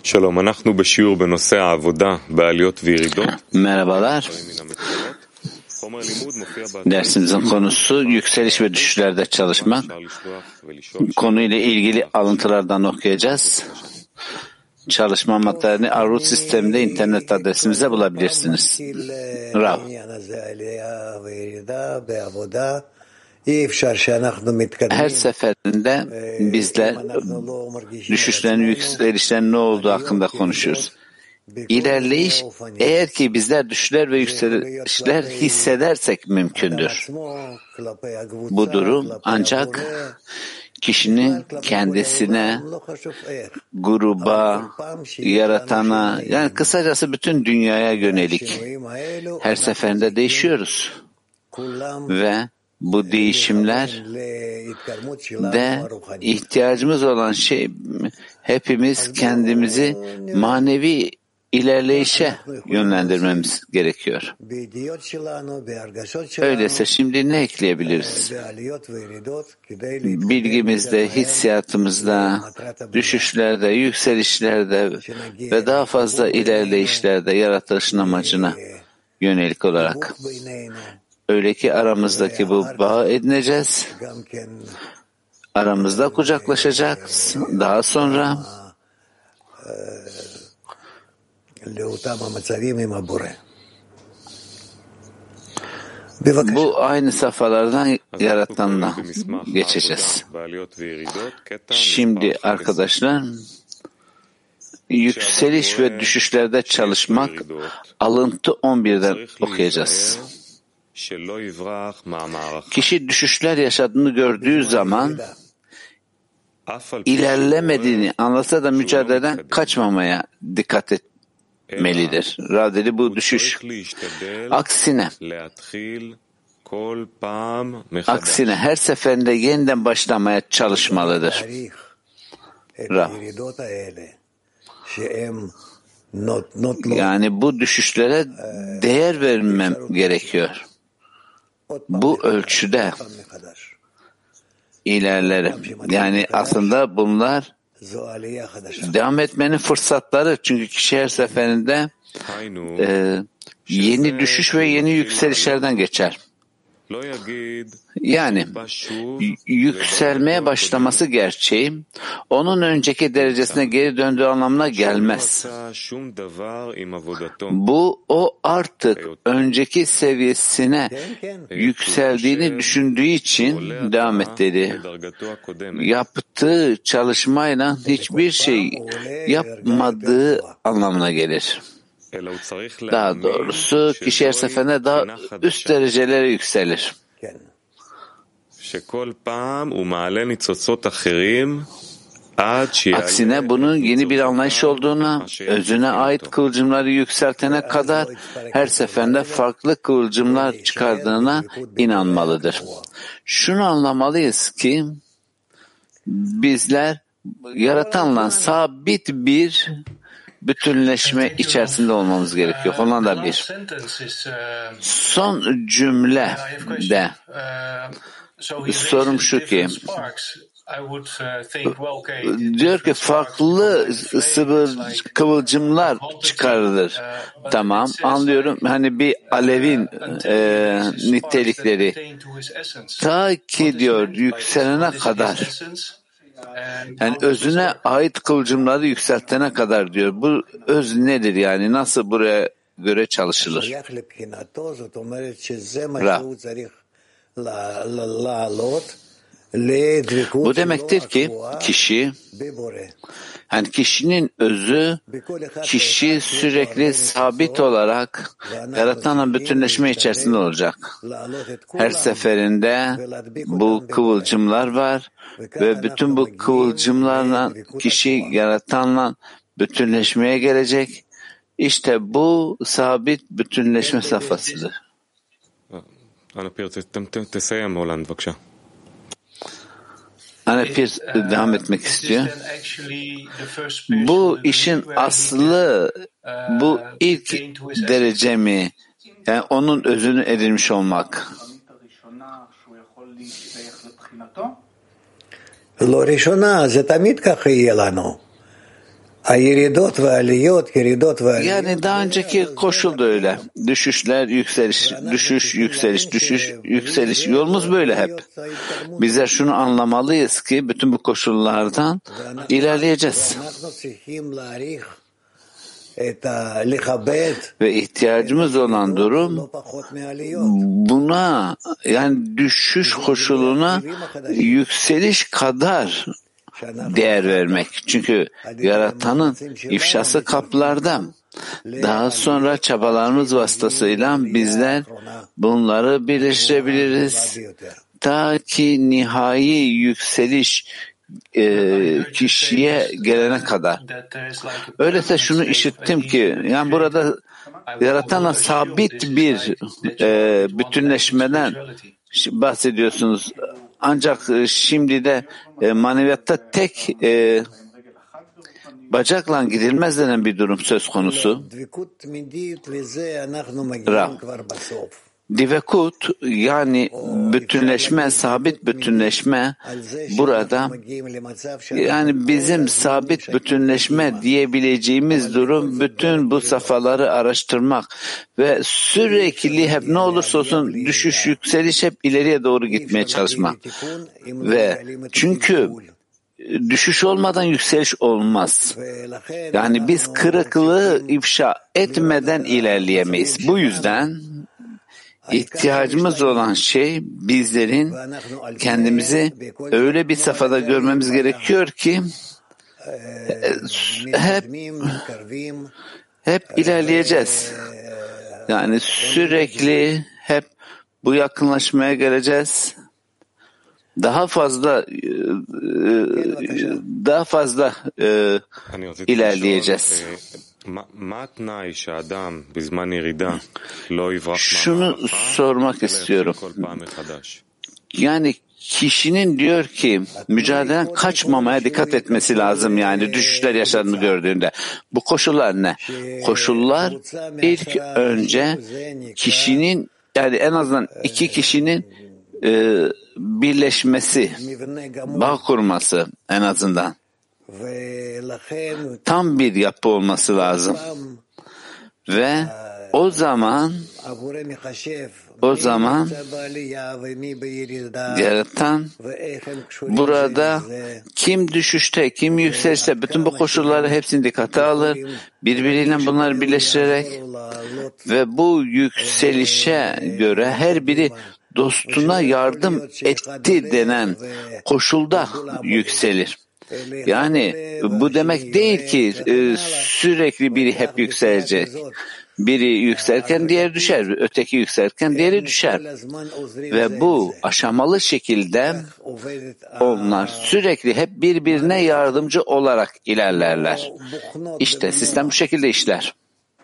שלום, אנחנו בשיעור בנושא העבודה בעליות וירידות. Merhabalar. Dersimizin konusu yükseliş ve düşüşlerde çalışmak. Konuyla ilgili alıntılardan okuyacağız. Çalışma materyalini Arut sisteminde internet adresimize bulabilirsiniz. Rav. Her seferinde bizler düşüşlerin, yükselişlerin ne olduğu hakkında konuşuyoruz. İlerleyiş, eğer ki bizler düşüşler ve yükselişler hissedersek mümkündür. Bu durum ancak kişinin kendisine, gruba, yaratana, yani kısacası bütün dünyaya yönelik her seferinde değişiyoruz. Ve bu değişimler de ihtiyacımız olan şey, hepimiz kendimizi manevi ilerleyişe yönlendirmemiz gerekiyor. Öyleyse şimdi ne ekleyebiliriz? Bilgimizde, hissiyatımızda, düşüşlerde, yükselişlerde ve daha fazla ilerleyişlerde yaratılışın amacına yönelik olarak. Öyle ki aramızdaki bu bağı edineceğiz. Aramızda kucaklaşacağız. Daha sonra bu aynı safhalardan Yaratan'la geçeceğiz. Şimdi arkadaşlar, yükseliş ve düşüşlerde çalışmak, alıntı 11'den okuyacağız. Kişi düşüşler yaşadığını gördüğü zaman ilerlemediğini anlasa da mücadeleden kaçmamaya dikkat etmelidir. Radeli bu düşüş. Aksine her seferinde yeniden başlamaya çalışmalıdır. Yani bu düşüşlere değer vermem gerekiyor. Bu ölçüde ilerlerim. Yani aslında bunlar devam etmenin fırsatları. Çünkü kişi her seferinde yeni düşüş ve yeni yükselişlerden geçer. Yani yükselmeye başlaması gerçeği onun önceki derecesine geri döndüğü anlamına gelmez. Bu o artık önceki seviyesine yükseldiğini düşündüğü için devam et dedi. Yaptığı çalışmayla hiçbir şey yapmadığı anlamına gelir. Daha doğrusu kişi her seferinde daha üst derecelere yükselir. Aksine bunun yeni bir anlayış olduğuna, özüne ait kıvılcımları yükseltene kadar her seferinde farklı kıvılcımlar çıkardığına inanmalıdır. Şunu anlamalıyız ki bizler Yaratan'la sabit bir bütünleşme içerisinde olmamız gerekiyor. Ondan da bir. Son cümle de sorum şu ki, diyor ki farklı kıvılcımlar çıkarılır. Tamam, anlıyorum. Hani bir alevin nitelikleri ta ki diyor yükselene kadar, yani özüne ait kıvılcımları yükseltene kadar diyor. Bu öz nedir yani? Nasıl buraya göre çalışılır? Bu demektir ki kişi, yani kişinin özü, kişi sürekli sabit olarak Yaratan'la bütünleşme içerisinde olacak. Her seferinde bu kıvılcımlar var ve bütün bu kıvılcımlarla kişi Yaratan'la bütünleşmeye gelecek. İşte bu sabit bütünleşme safhasıdır. Anapir devam etmek istiyor. Bu işin aslı, bu ilk derece mi? Yani onun özünü edinmiş olmak. לא ראשונה, זה תמיד ככה יהיה לנו. Yani daha önceki koşul da öyle. Düşüşler, yükseliş, düşüş, yükseliş, düşüş, yükseliş. Yolumuz böyle hep. Bizler şunu anlamalıyız ki bütün bu koşullardan ilerleyeceğiz. Ve ihtiyacımız olan durum buna, yani düşüş koşuluna yükseliş kadar değer vermek. Çünkü yaratanın ifşası kaplarda. Daha sonra çabalarımız vasıtasıyla bizler bunları birleştirebiliriz. Ta ki nihai yükseliş kişiye gelene kadar. Öyleyse şunu işittim ki, yani burada yaratanla sabit bir bütünleşmeden bahsediyorsunuz. Ancak şimdi de maneviyatta tek bacakla gidilmez denen bir durum söz konusu. Divekut, yani bütünleşme, sabit bütünleşme burada, yani bizim sabit bütünleşme diyebileceğimiz durum bütün bu safhaları araştırmak ve sürekli hep ne olursa olsun düşüş yükseliş hep ileriye doğru gitmeye çalışmak. Ve çünkü düşüş olmadan yükseliş olmaz. Yani biz kırıklığı ifşa etmeden ilerleyemeyiz. Bu yüzden İhtiyacımız olan şey bizlerin kendimizi öyle bir safhada görmemiz gerekiyor ki hep ilerleyeceğiz. Yani sürekli hep bu yakınlaşmaya geleceğiz. Daha fazla ilerleyeceğiz. Şunu sormak istiyorum. Yani kişinin diyor ki mücadeleden kaçmamaya dikkat etmesi lazım, yani düşüşler yaşadığını gördüğünde. Bu koşullar ne? Koşullar ilk önce kişinin, yani en azından iki kişinin birleşmesi, bağ kurması en azından. Tam bir yapı olması lazım. Ve o zaman yaratan burada kim düşüşte, kim yükselişte, bütün bu koşulları hepsini dikkate alır, birbiriyle bunları birleştirerek ve bu yükselişe göre her biri dostuna yardım etti denen koşulda yükselir. Yani bu demek değil ki sürekli biri hep yükselecek. Biri yükselirken diğeri düşer, öteki yükselirken diğeri düşer. Ve bu aşamalı şekilde onlar sürekli hep birbirine yardımcı olarak ilerlerler. İşte sistem bu şekilde işler.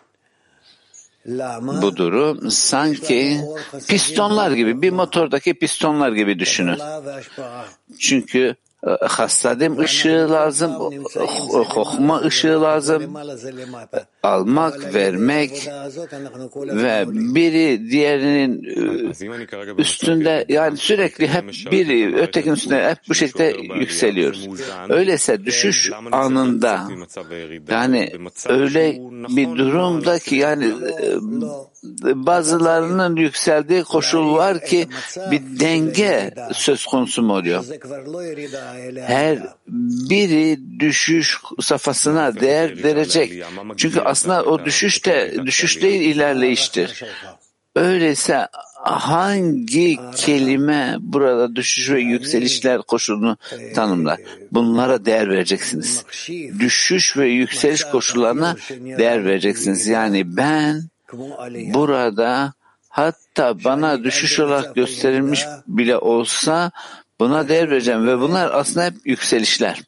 Bu durum sanki pistonlar gibi, bir motordaki pistonlar gibi düşünün. Çünkü hasadim ışığı lazım, hokma ışığı lazım, almak, vermek ve biri diğerinin üstünde, yani sürekli hep biri ötekinin üstünde hep bu şekilde yükseliyoruz. Öyleyse düşüş anında, yani öyle bir durumda ki, yani bazılarının yükseldiği koşul var ki bir denge söz konusu mu oluyor? Her biri düşüş safhasına değer verecek. Çünkü aslında o düşüş değil, ilerleyiştir. Öyleyse hangi kelime burada düşüş ve yükselişler koşulunu tanımlar? Bunlara değer vereceksiniz. Düşüş ve yükseliş koşullarına değer vereceksiniz. Yani ben burada, hatta bana düşüş olarak gösterilmiş bile olsa, buna değer vereceğim ve bunlar aslında hep yükselişler.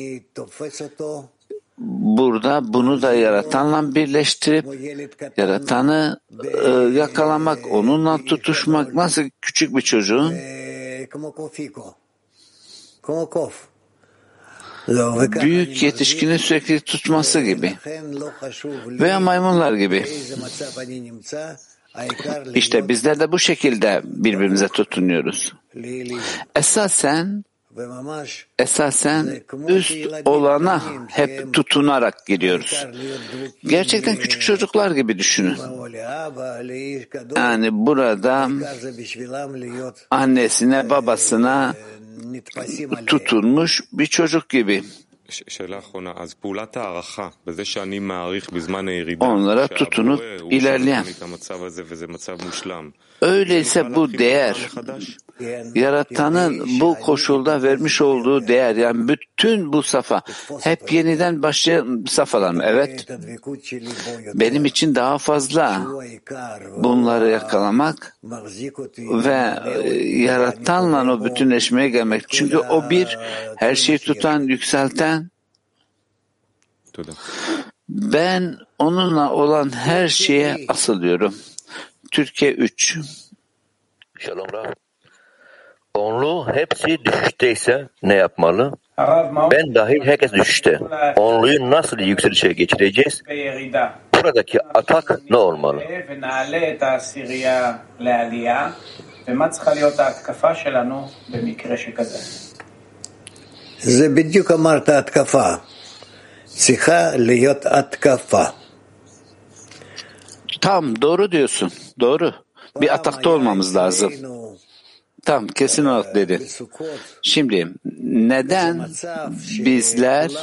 Burada bunu da yaratanla birleştirip yaratanı yakalamak, onunla tutuşmak, nasıl küçük bir çocuğun büyük yetişkini sürekli tutması gibi veya maymunlar gibi. İşte bizler de bu şekilde birbirimize tutunuyoruz. Esasen esasen üst olana hep tutunarak gidiyoruz. Gerçekten küçük çocuklar gibi düşünün. Yani burada annesine, babasına tutulmuş bir çocuk gibi. Onlara tutunup ilerleyen. Öyleyse bu değer, Yaratan'ın bu koşulda vermiş olduğu değer, yani bütün bu safa, hep yeniden başlayan safalar mı? Evet. Benim için daha fazla bunları yakalamak ve Yaratan'la o bütünleşmeye gelmek. Çünkü o bir, her şeyi tutan, yükselten. Ben onunla olan her şeye asılıyorum. Türkiye 3. Shalom Rav. Onlu hepsi düşüşteyse ne yapmalı? Ben dahil herkes düşüşte. Onluyu nasıl yükselişe geçireceğiz? Buradaki atak ne olmalı? זה בדיוק אמרת התקפה. צריכה להיות התקפה. Tam doğru diyorsun. Doğru. Bir atakta olmamız lazım. Tam kesin olarak dedin. Şimdi neden bizler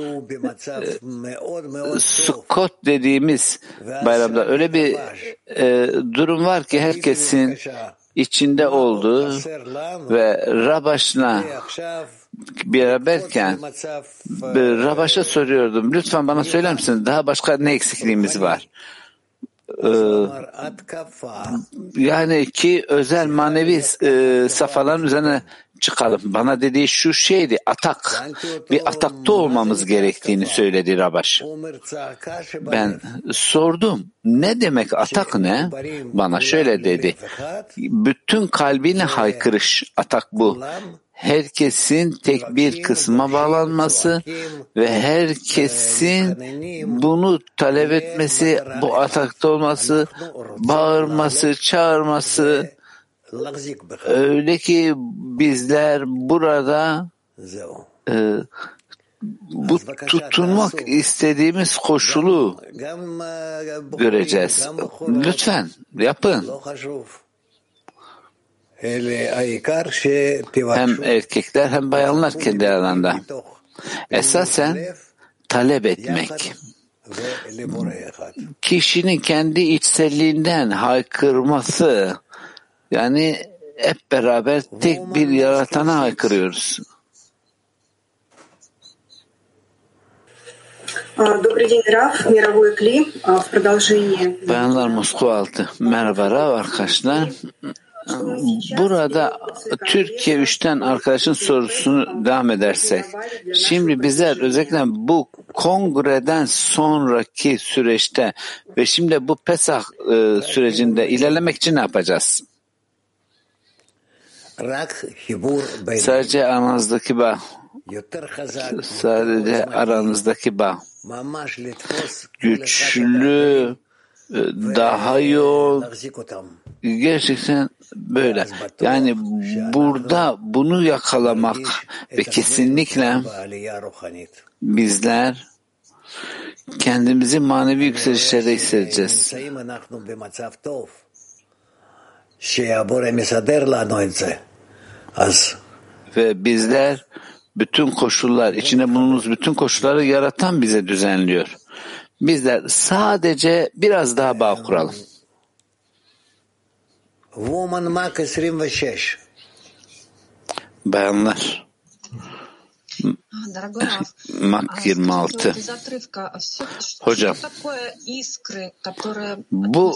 Sukkot dediğimiz bayramda öyle bir durum var ki herkesin içinde olduğu ve Rabaş'la beraberken Rabaş'a soruyordum. Lütfen bana söyler misin? Daha başka ne eksikliğimiz var? Yani ki özel manevi safhaların üzerine çıkalım. Bana dediği şu şeydi, atak. Bir atakta olmamız gerektiğini söyledi Rabaş. Ben sordum, ne demek atak ne? Bana şöyle dedi, bütün kalbine haykırış, atak bu. Herkesin tek bir kısma bağlanması ve herkesin bunu talep etmesi, bu atakta olması, bağırması, çağırması, öyle ki bizler burada bu tutunmak istediğimiz koşulu göreceğiz. Lütfen yapın. Hem erkekler hem bayanlar kendi aralarında. Esasen talep etmek. Kişinin kendi içselliğinden haykırması, yani hep beraber tek bir yaratana haykırıyoruz. Bayanlar Moskova 6. Merhaba Rav arkadaşlar. Burada Türkiye 3'ten arkadaşın sorusunu devam edersek, şimdi bizler özellikle bu kongreden sonraki süreçte ve şimdi bu Pesah sürecinde ilerlemek için ne yapacağız? Sadece aranızdaki bağ, güçlü, daha yoğun, gerçekten böyle. Yani burada bunu yakalamak ve kesinlikle bizler kendimizi manevi yükselişlerde hissedeceğiz. Ve bizler bütün koşullar, içinde bulunduğumuz bütün koşulları yaratan bize düzenliyor. Bizler sadece biraz daha bağ kuralım. Bayanlar Mak 26. Hocam, bu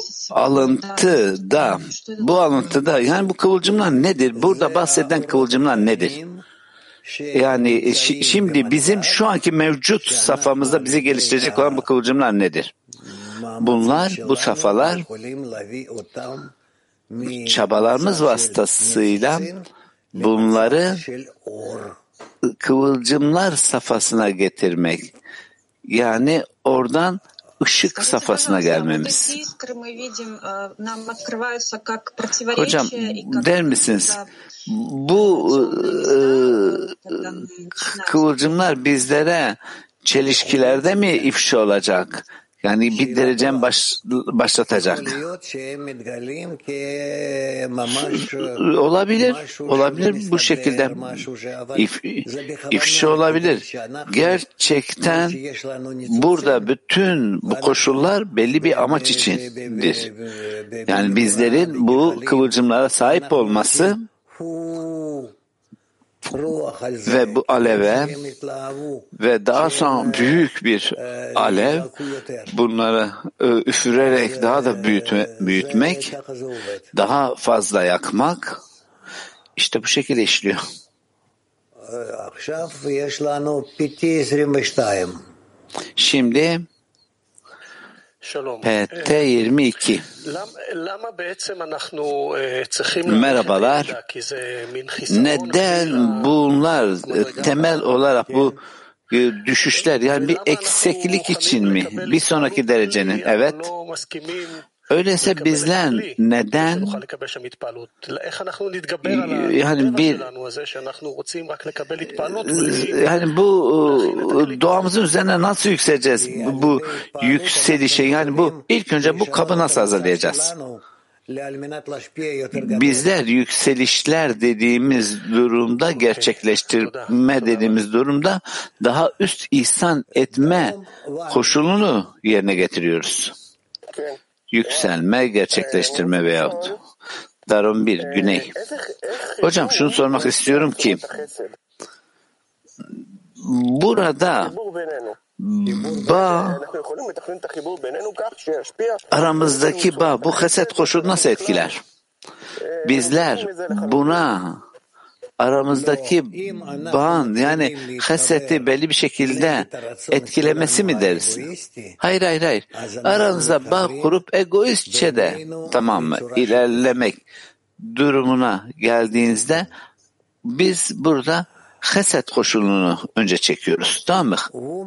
alıntıda yani bu kıvılcımlar nedir? Burada bahseden kıvılcımlar nedir? Yani şimdi bizim şu anki mevcut safhamızda bizi geliştirecek olan bu kıvılcımlar nedir? Bunlar, bu safhalar çabalarımız vasıtasıyla bunları kıvılcımlar safhasına getirmek. Yani oradan ışık safhasına gelmemiz. Hocam der misiniz? Bu kıvılcımlar bizlere çelişkilerde mi ifşa olacak? Yani bir derecen başlatacak. Olabilir bu şekilde ifşa olabilir. Gerçekten burada bütün bu koşullar belli bir amaç içindir. Yani bizlerin bu kıvılcımlara sahip olması ve bu aleve ve daha sonra büyük bir alev bunları üfürerek daha da büyütmek, daha fazla yakmak işte bu şekilde işliyor. Şimdi PT 22. Merhabalar. Neden bunlar temel olarak bu düşüşler yani bir eksiklik için mi? Bir sonraki derecenin. Evet. Öyleyse bizler neden yani bu doğamızın üzerine nasıl yükseleceğiz? Bu yükselişe yani bu ilk önce bu kabı nasıl hazırlayacağız? Bizler yükselişler dediğimiz durumda, gerçekleştirme dediğimiz durumda daha üst ihsan etme koşulunu yerine getiriyoruz. Yükselme, gerçekleştirme veyahut. Darum 1, Güney. Hocam şunu sormak istiyorum ki burada aramızdaki bu haset koşulu nasıl etkiler? Bizler buna aramızdaki bağın yani haseti belli bir şekilde etkilemesi mi deriz? Hayır. Aranızda bağ kurup egoistçe de tamam mı? İlerlemek durumuna geldiğinizde biz burada haset koşulunu önce çekiyoruz. Tamam mı?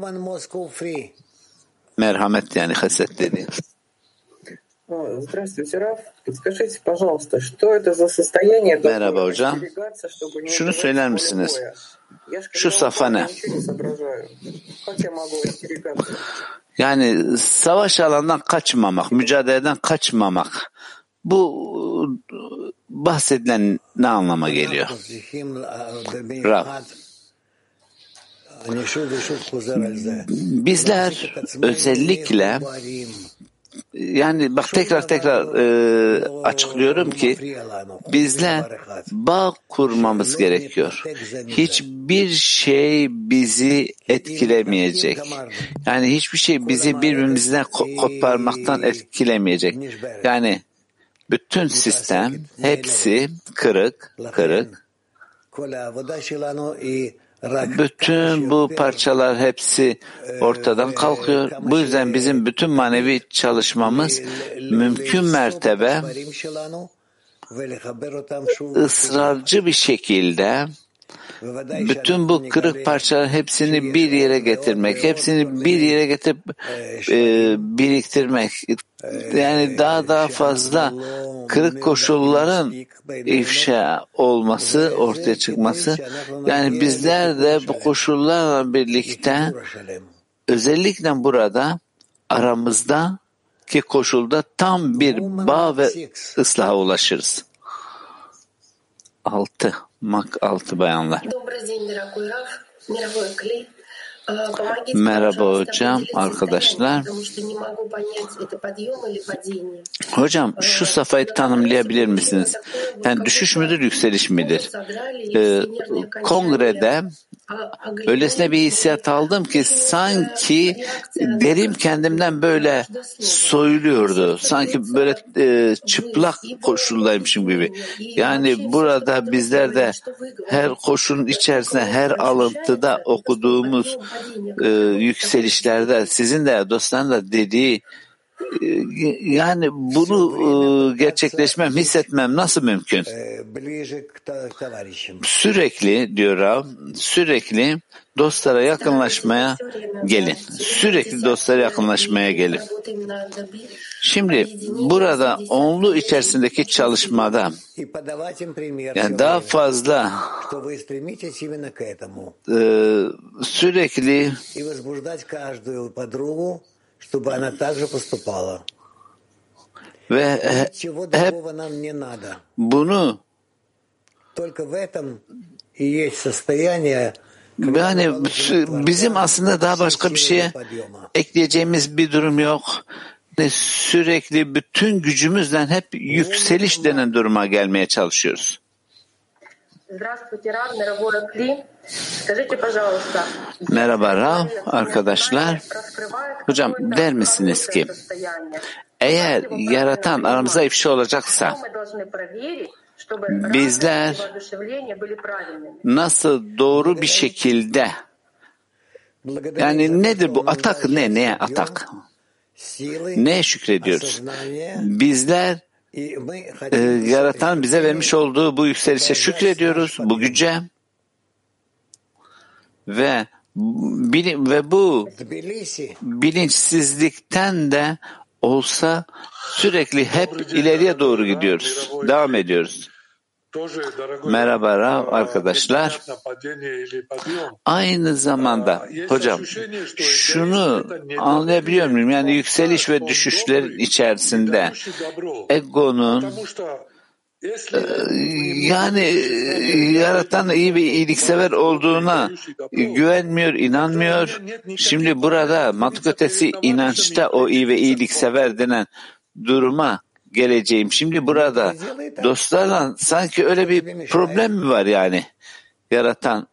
Merhamet yani haset dediğimiz. Merhaba hocam. Şunu söyler misiniz? Şu safa ne? Yani savaş alanından kaçmamak, mücadeleden kaçmamak. Bu bahsedilen ne anlama geliyor? Rav. Bizler özellikle yani bak tekrar açıklıyorum ki bizler bağ kurmamız gerekiyor. Hiçbir şey bizi etkilemeyecek. Yani hiçbir şey bizi birbirimizden koparmaktan etkilemeyecek. Yani bütün sistem hepsi kırık. Bütün bu parçalar hepsi ortadan kalkıyor. Bu yüzden bizim bütün manevi çalışmamız mümkün mertebe ısrarcı bir şekilde bütün bu kırık parçaların hepsini bir yere getirmek, hepsini bir yere getirip biriktirmek. Yani daha fazla kırık koşulların ifşa olması, ortaya çıkması. Yani bizler de bu koşullarla birlikte özellikle burada aramızdaki koşulda tam bir bağ ve ıslaha ulaşırız. 6 bayanlar. Merhaba hocam, arkadaşlar. Hocam şu safhayı tanımlayabilir misiniz? Yani düşüş müdür, yükseliş midir? Kongrede öylesine bir hissiyat aldım ki sanki derim kendimden böyle soyuluyordu. Sanki böyle çıplak koşuldaymışım gibi. Yani burada bizler de her koşunun içerisinde, her alıntıda okuduğumuz yükselişlerde sizin de dostların da dediği Yani bunu gerçekleşmem, hissetmem nasıl mümkün? Sürekli diyor Rav, sürekli dostlara yakınlaşmaya gelin. Sürekli dostlara yakınlaşmaya gelin. Şimdi burada onlu içerisindeki çalışmada yani daha fazla sürekli ve hep bunu yani bizim aslında daha başka bir şeye ekleyeceğimiz bir durum yok. Sürekli bütün gücümüzle hep yükseliş denen duruma gelmeye çalışıyoruz. Merhaba Rav, arkadaşlar. Hocam der misiniz ki eğer yaratan aramıza ifşa olacaksa bizler nasıl doğru bir şekilde yani nedir bu atak neye atak? Neye şükrediyoruz? Bizler yaratan bize vermiş olduğu bu yükselişe şükrediyoruz, bu güce ve bu bilinçsizlikten de olsa sürekli hep ileriye doğru gidiyoruz, devam ediyoruz. Merhaba Rav, arkadaşlar. Aynı zamanda hocam şunu anlayabiliyor muyum? Yani yükseliş ve düşüşlerin içerisinde egonun yani yaratan iyi ve iyiliksever olduğuna güvenmiyor, inanmıyor. Şimdi burada mantık ötesi inançta o iyi ve iyiliksever denen duruma geleceğim. Şimdi burada dostlarla sanki öyle bir problem mi var yani? Yaratan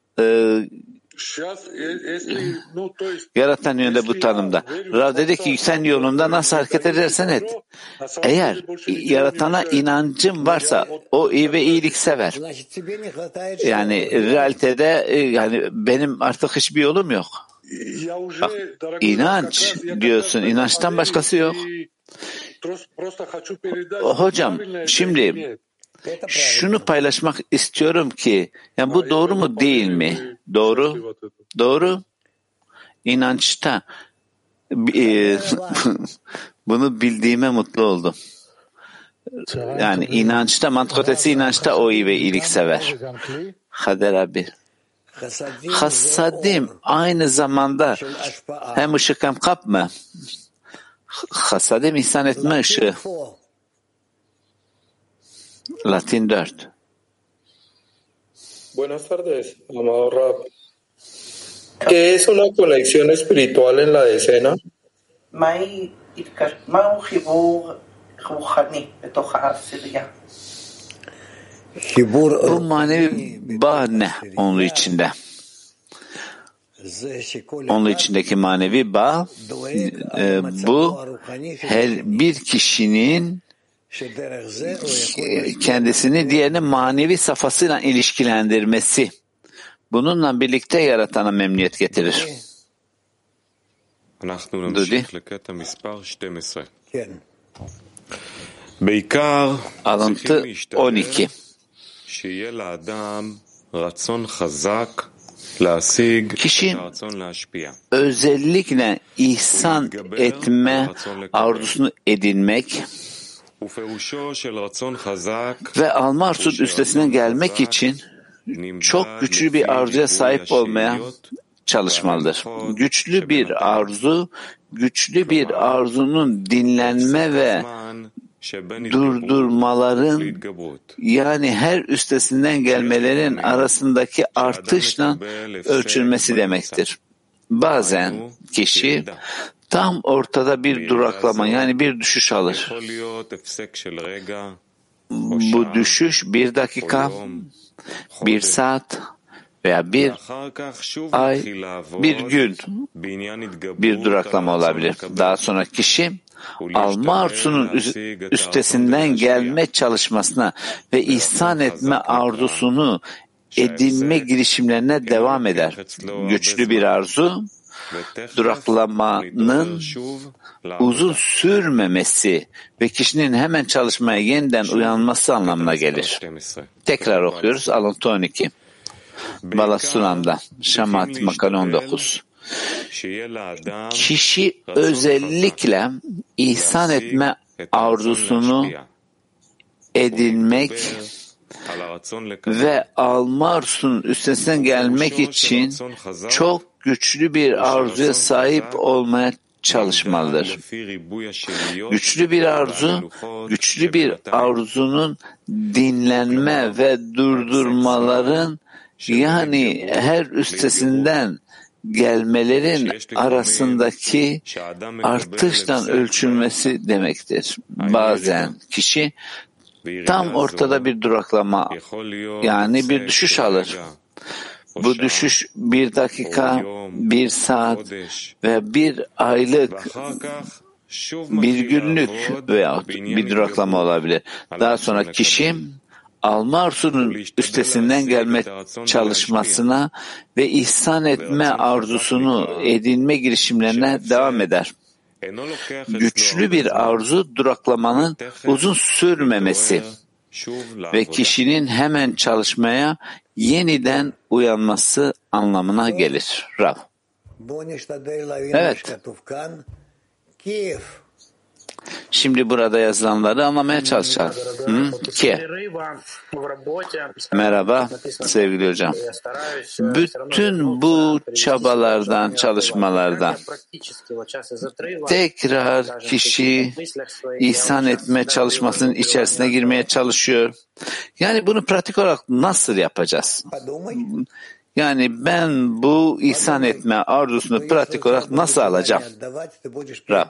yönünde bu tanımda. Rav dedi ki sen yolunda nasıl hareket edersen et. Eğer yaratana inancın varsa o iyi ve iyiliksever. Yani realitede yani benim artık hiçbir yolum yok. Bak, inanç diyorsun. İnançtan başkası yok. Hocam şimdi şunu paylaşmak istiyorum ki yani bu doğru mu değil mi? Doğru. Doğru. İnançta bunu bildiğime mutlu oldum. Yani inançta, mantık ötesi inançta o iyi ve iyiliksever. Kader abi. Hasadim aynı zamanda hem ışık hem kap mı? Hasadim ihsan etme ışığı. Latin 4. Buenas tardes, amado Rab. ¿Qué es una conexión espiritual en la decena? Bu manevi bağ ne onun içinde? Onun içindeki manevi bağ bu her bir kişinin kendisini diğerinin manevi safhasıyla ilişkilendirmesi. Bununla birlikte yaratana memnuniyet getirir. Dudi. Alıntı 12. Kişi özellikle ihsan etme arzusunu edinmek ve alma arzusunun üstesinden gelmek için çok güçlü bir arzuya sahip olmaya çalışmalıdır. Güçlü bir arzunun dinlenme ve durdurmaların yani her üstesinden gelmelerin arasındaki artışla ölçülmesi demektir. Bazen kişi tam ortada bir duraklama yani bir düşüş alır. Bu düşüş 1 dakika, 1 saat veya 1 ay, 1 gün bir duraklama olabilir. Daha sonra kişi alma arzusunun üstesinden gelme çalışmasına ve ihsan etme arzusunu edinme girişimlerine devam eder. Güçlü bir arzu duraklamanın uzun sürmemesi ve kişinin hemen çalışmaya yeniden uyanması anlamına gelir. Tekrar okuyoruz. Alıntı 12. Balasunan'da Şamat Makale 19. Kişi özellikle ihsan etme arzusunu edinmek ve alma arzusunun üstesinden gelmek için çok güçlü bir arzuya sahip olmaya çalışmalıdır. Güçlü bir arzunun dinlenme ve durdurmaların yani her üstesinden gelmelerin arasındaki artıştan ölçülmesi demektir. Bazen kişi tam ortada bir duraklama yani bir düşüş alır. Bu düşüş 1 dakika, 1 saat ve 1 aylık, 1 günlük veya bir duraklama olabilir. Daha sonra kişi alma arzusunun üstesinden gelme çalışmasına ve ihsan etme arzusunu edinme girişimlerine devam eder. Güçlü bir arzu duraklamanın uzun sürmemesi ve kişinin hemen çalışmaya yeniden uyanması anlamına gelir. Rav. Evet. Şimdi burada yazılanları anlamaya çalışalım. Merhaba sevgili hocam. Bütün bu çabalardan, çalışmalardan tekrar kişi ihsan etme çalışmasının içerisine girmeye çalışıyor. Yani bunu pratik olarak nasıl yapacağız? Yani ben bu ihsan etme arzusunu pratik olarak nasıl alacağım? Rab.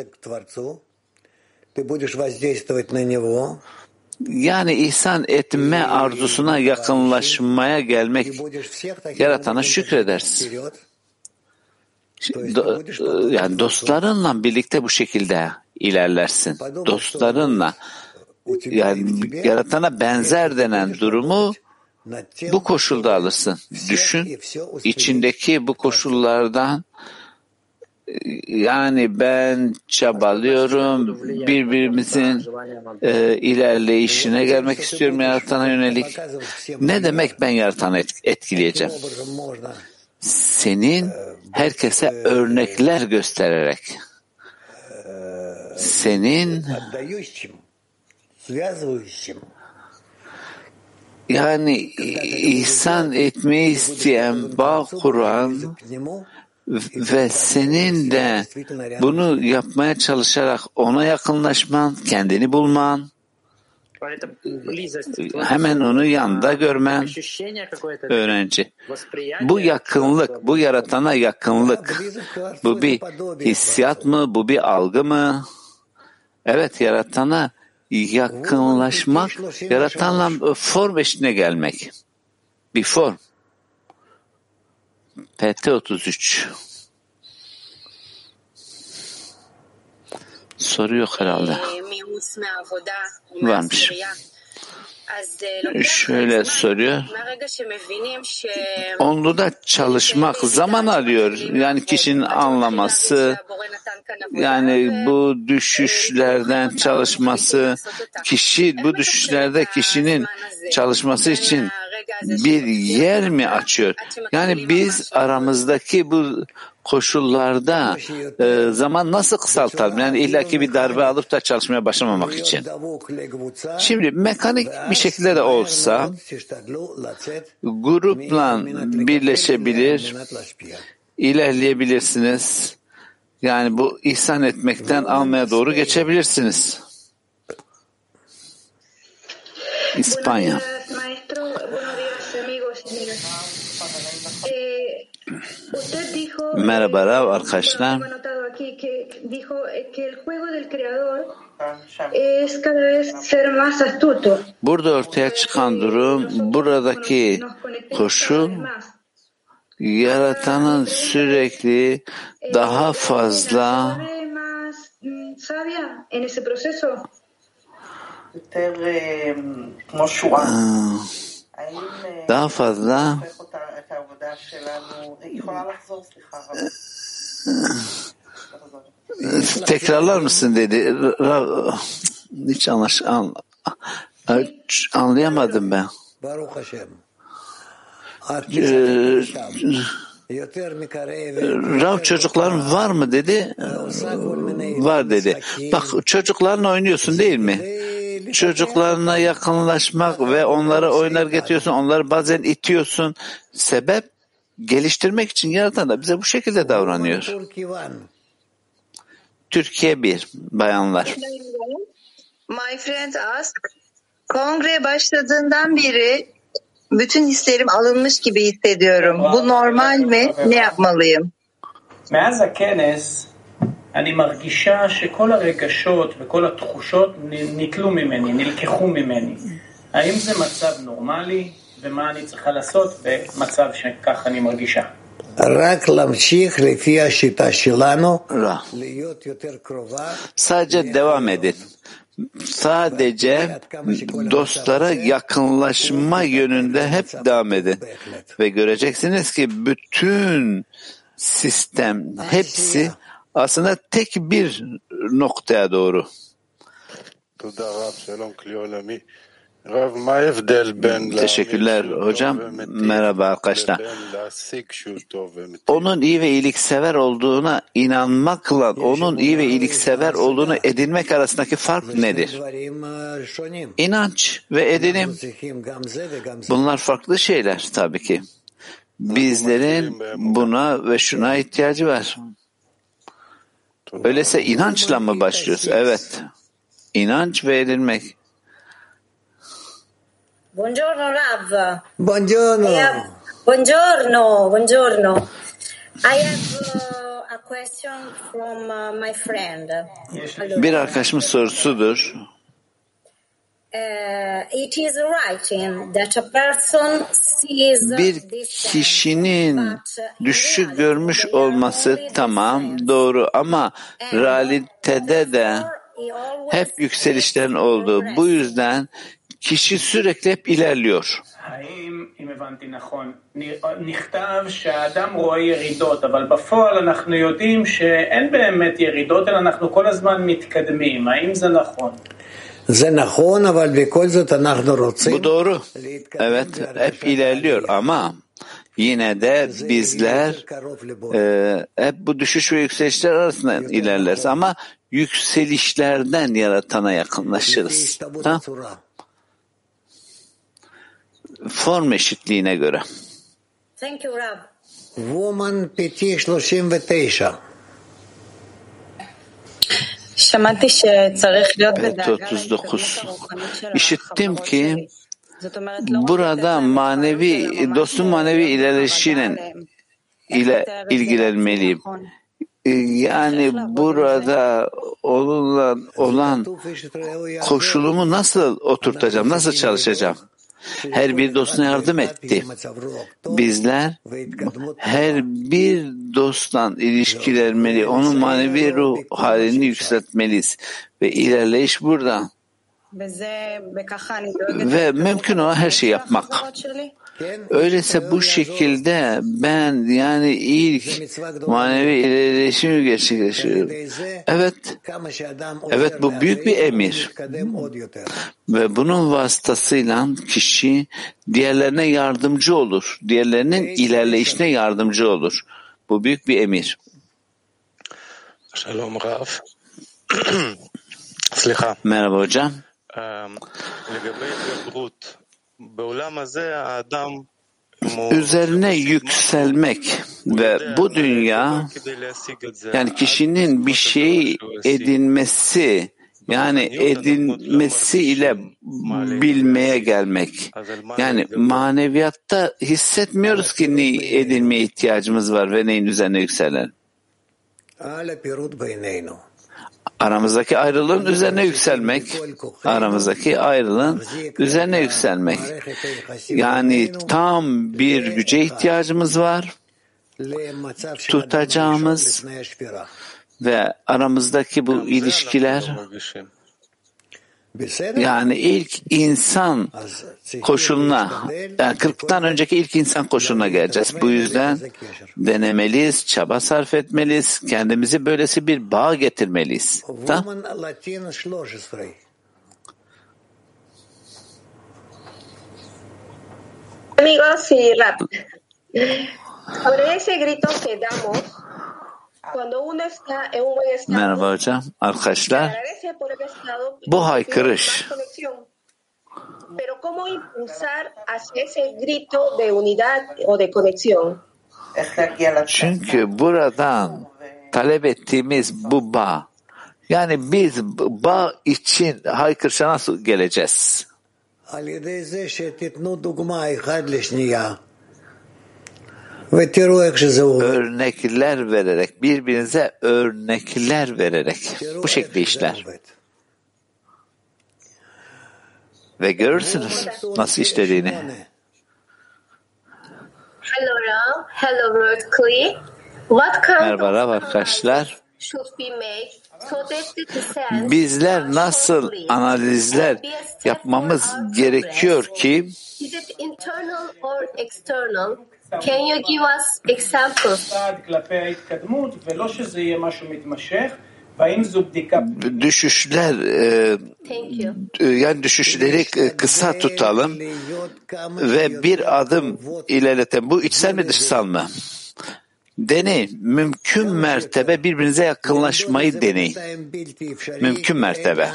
Yani ihsan etme arzusuna yakınlaşmaya gelmek, yaratana şükredersin. Yani dostlarınla birlikte bu şekilde ilerlersin. Dostlarınla, yani yaratana benzer denen durumu bu koşulda alırsın. Düşün, içindeki bu koşullardan yani ben çabalıyorum, birbirimizin ilerleyişine gelmek istiyorum yaratana yönelik. Ne demek ben yaratanı etkileyeceğim? Senin herkese örnekler göstererek, senin yani ihsan etmeyi isteyen, bağ kuran ve senin de bunu yapmaya çalışarak ona yakınlaşman, kendini bulman, hemen onu yanında görmen, öğrenci. Bu yakınlık, bu yaratana yakınlık, bu bir hissiyat mı, bu bir algı mı? Evet, yaratana yakınlaşmak, yaratanla form eşliğine gelmek. Bir form. PT 33. Soru yok herhalde. Varmış. Şöyle soruyor. Onluda çalışmak zaman alıyor. Yani kişinin anlaması, yani bu düşüşlerden çalışması, bu düşüşlerde kişinin çalışması için bir yer mi açıyor? Yani biz aramızdaki bu koşullarda zaman nasıl kısaltalım? Yani illaki bir darbe alıp da çalışmaya başlamamak için. Şimdi mekanik bir şekilde de olsa grupla birleşebilir, ilerleyebilirsiniz. Yani bu ihsan etmekten almaya doğru geçebilirsiniz. İspanya. Merhaba arkadaşlar. Burada ortaya çıkan durum, buradaki koşul, yaratanın sürekli daha fazla Tekrarlar mısın dedi. Hiç anlayamadım ben. Rav çocukların var mı dedi. Var dedi. Bak çocuklarla oynuyorsun değil mi? Çocuklarına yakınlaşmak ve onlara oyunlar getiriyorsun. Onları bazen itiyorsun. Sebep geliştirmek için Yaratan da bize bu şekilde davranıyor. Türkiye 1 bayanlar. My friend asked, kongre başladığından beri bütün hislerim alınmış gibi hissediyorum. Bu normal mi? Ne yapmalıyım? מאז הכנס אני מרגישה שכל הרגשות וכל התחושות נטלו ממני, נלקחו ממני. האם זה מצב נורמלי ומה אני צריכה לעשות במצב שכך אני מרגישה? רק להמשיך לפי השיטה שלנו, להיות יותר קרובה. Sadece devam edin. Sadece dostlara yakınlaşma yönünde hep devam edin. Ve göreceksiniz ki bütün sistem, hepsi aslında tek bir noktaya doğru. Teşekkürler hocam. Merhaba arkadaşlar. Onun iyi ve iyiliksever olduğuna inanmakla onun iyi ve iyiliksever olduğunu edinmek arasındaki fark nedir? İnanç ve edinim. Bunlar farklı şeyler tabii ki. Bizlerin buna ve şuna ihtiyacı var. Öyleyse inançla mı başlıyoruz? Evet. İnanç ve edinmek. Buongiorno Rav. Buongiorno. Buongiorno. I have a question from my friend. Bir arkadaşımın sorusudur. It is writing that a person sees Bir kişinin düşüşü görmüş olması tamam, doğru ama realitede de hep yükselişlerin olduğu. Bu yüzden kişi sürekli hep ilerliyor. האם, אם הבנתי נכון, נכתב שהאדם רואה ירידות, אבל בפועל אנחנו יודעים שאין באמת ירידות, אלא אנחנו כל הזמן מתקדמים. האם זה נכון? זה נכון, אבל בכל זאת אנחנו רוצים. Bu doğru. Evet, hep ilerliyor ama yine de bizler hep bu düşüş ve yükselişler arasında ilerleriz ama yükselişlerden Yaratana yakınlaşırız. Ha? Form eşitliğine göre. Thank you, Rav. Woman PT 39. שמעתי שצריך להיות בדאגה 39. İşittim ki burada dostun manevi ilerleyişiyle ilgilenmeliyim. Yani burada olan koşulumu nasıl oturtacağım, nasıl çalışacağım? Her bir dostuna yardım etti. Bizler her bir dostla ilişkilenmeli, onun manevi ruh halini yükseltmeliyiz. Ve ilerleyiş burada. Ve mümkün olan her şeyi yapmak. Öyleyse bu şekilde ben yani ilk manevi ilerleyişimi gerçekleştiriyorum. Evet bu büyük bir emir. Ve bunun vasıtasıyla kişi diğerlerine yardımcı olur. Diğerlerinin ilerleyişine yardımcı olur. Bu büyük bir emir. Merhaba hocam. Üzerine yükselmek ve bu dünya yani kişinin bir şeyi edinmesi yani edinmesiyle bilmeye gelmek. Yani maneviyatta hissetmiyoruz ki ne edinmeye ihtiyacımız var ve neyin üzerine yükselelim. Aramızdaki ayrılığın üzerine yükselmek, aramızdaki ayrılığın üzerine yükselmek. Yani tam bir güce ihtiyacımız var, tutacağımız ve aramızdaki bu ilişkiler Yani ilk insan koşuluna, yani 40'tan önceki ilk insan koşuluna geleceğiz. Bu yüzden denemeliyiz, çaba sarf etmeliyiz, kendimizi böylesi bir bağ getirmeliyiz. Tamam? Amigos y rap. Sobre ese grito que damos cuando uno está en un buen estado. Merhaba hocam, arkadaşlar. Bu haykırış. Pero cómo impulsar hacia ese grito de unidad o de conexión. Çünkü buradan talep ettiğimiz bu bağ. Yani biz bağ için haykırışa nasıl geleceğiz? Örnekler vererek, birbirinize örnekler vererek bu şekilde işler. Ve görürsünüz nasıl işlediğini. Hello Ram, hello World Kli. What kind Merhaba arkadaşlar. Bizler nasıl analizler yapmamız gerekiyor ki Can you give us examples? Düşüşler, yani düşüşleri kısa tutalım ve bir adım ilerletelim. Bu içsel mi dışsal mı? Deneyin. Mümkün mertebe birbirinize yakınlaşmayı deneyin. Mümkün mertebe.